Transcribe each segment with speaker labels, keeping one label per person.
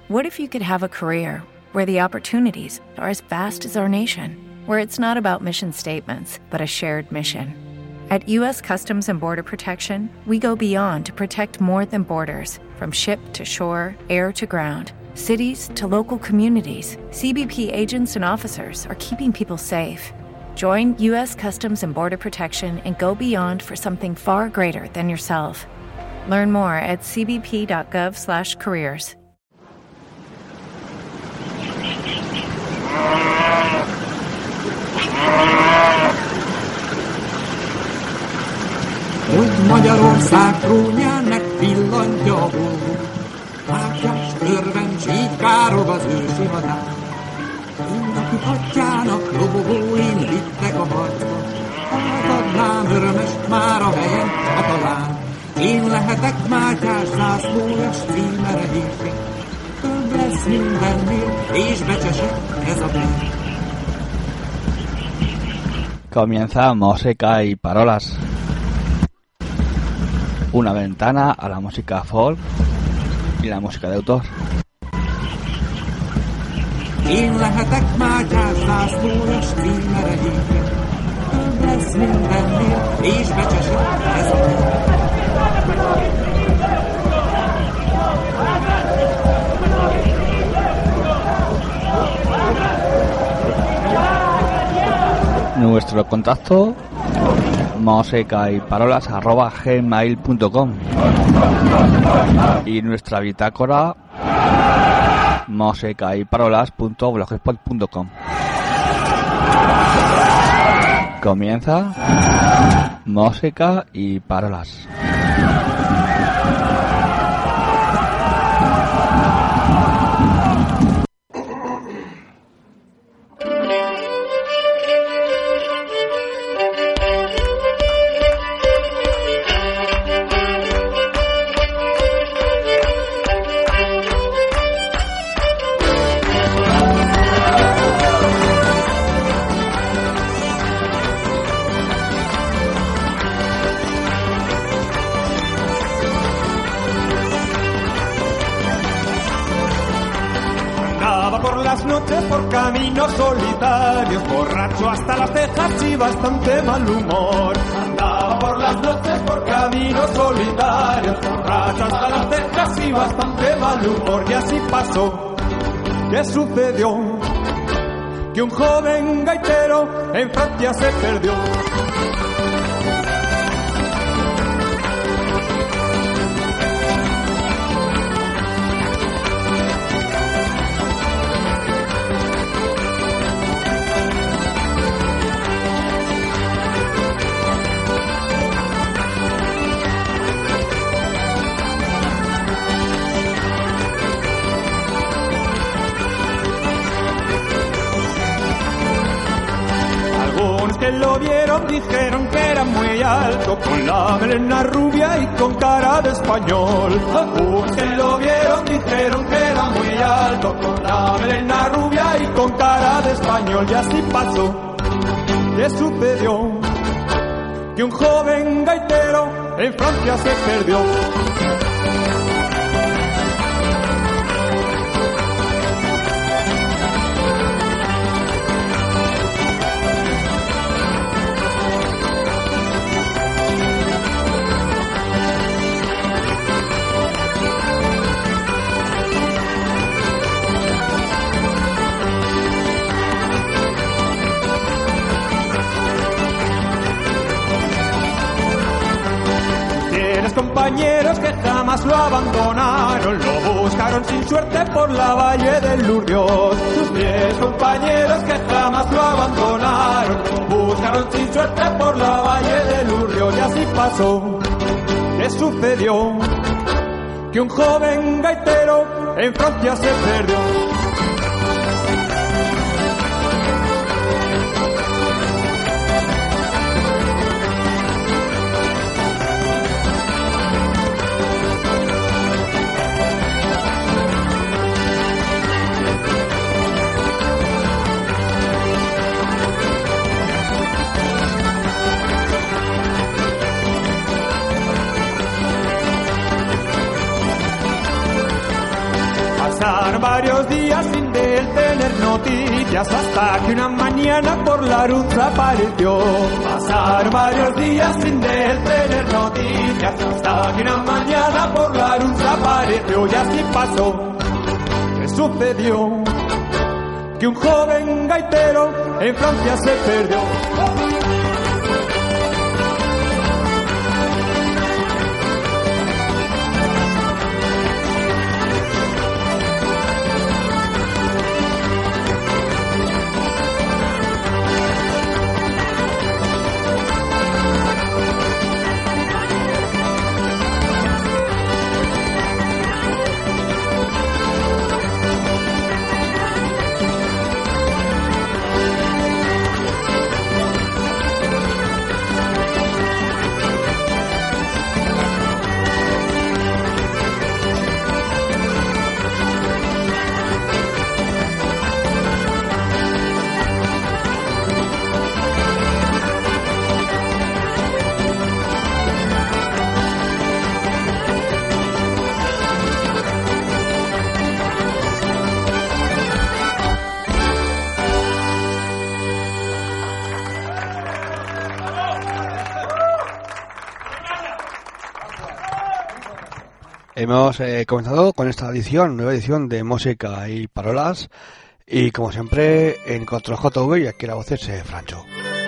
Speaker 1: What if you could have a career where the opportunities are as vast as our nation, where it's not about mission statements, but a shared mission? At U.S. Customs and Border Protection, we go beyond to protect more than borders. From ship to shore, air to ground, cities to local communities, CBP agents and officers are keeping people safe. Join U.S. Customs and Border Protection and go beyond for something far greater than yourself. Learn more at cbp.gov/careers.
Speaker 2: Hogy Magyarország trónjának pillantja a hó, Mátyás örvencs így károg az ősi hadár. Mindakik atyának lobogóin vittek a harcba, átadnám örömes már a helyen a talán. Én lehetek Mátyás zászlójas címere hívni, több lesz mindennél, és becsesek ez a bér.
Speaker 3: Comienza Música y Parolas, una ventana a la música folk y la música de autor.
Speaker 2: Én lehetek Mátyás zászlójas címere hívni, több lesz mindennél, és becsesek ez a bér.
Speaker 3: Nuestro contacto musicayparolas@gmail.com y nuestra bitácora musicayparolas.blogspot.com. Comienza Música y Parolas.
Speaker 4: Por caminos solitarios, borracho hasta las cejas y bastante mal humor. Andaba por las noches por caminos solitarios, borracho hasta las cejas y bastante mal humor. Y así pasó. ¿Qué sucedió? Que un joven gaitero en Francia se perdió. Que lo vieron dijeron que era muy alto, con la melena rubia y con cara de español. Algunos que lo vieron dijeron que era muy alto, con la melena rubia y con cara de español. Y así pasó. ¿Qué sucedió? Que un joven gaitero en Francia se perdió. Compañeros que jamás lo abandonaron, lo buscaron sin suerte por la valle del Lurdios. Tus 10 compañeros que jamás lo abandonaron, lo buscaron sin suerte por la valle del Lurdios. Y así pasó. ¿Qué sucedió? Que un joven gaitero en Francia se perdió. Pasar varios días sin de él tener noticias, hasta que una mañana por la Arunza apareció. Pasar varios días sin de él tener noticias, hasta que una mañana por la Arunza apareció. Y así pasó. ¿Qué sucedió? Que un joven gaitero en Francia se perdió.
Speaker 3: Hemos comenzado con esta nueva edición de Música y Parolas, y como siempre en Control JV, y aquí la voz es Francho.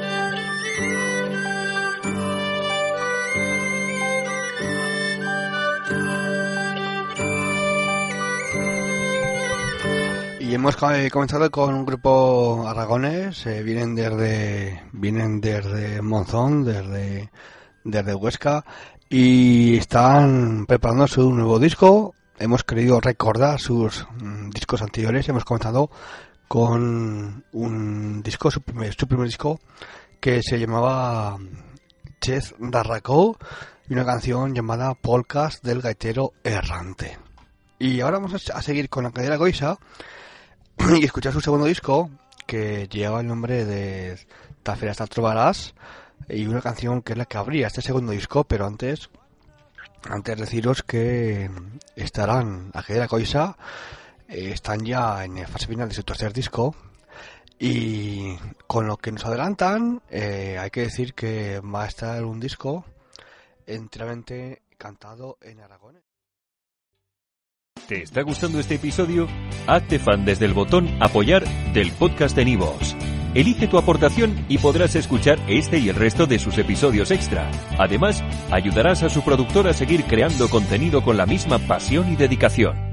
Speaker 3: Y hemos comenzado con un grupo aragonés, vienen desde Monzón, desde Huesca, y están preparando su nuevo disco. Hemos querido recordar sus discos anteriores. Hemos comenzado con un disco, su primer disco, que se llamaba Chez d'Arracó, y una canción llamada Polcas del gaitero errante. Y ahora vamos a seguir con la cadera Goisa y escuchar su segundo disco, que lleva el nombre de Taferas Trobarás, y una canción que es la que abría este segundo disco. Pero antes deciros que estarán a cadera Goisa, están ya en fase final de su tercer disco, y con lo que nos adelantan, hay que decir que va a estar un disco enteramente cantado en aragonés.
Speaker 5: ¿Te está gustando este episodio? Hazte fan desde el botón Apoyar del podcast de iVoox. Elige tu aportación y podrás escuchar este y el resto de sus episodios extra. Además, ayudarás a su productor a seguir creando contenido con la misma pasión y dedicación.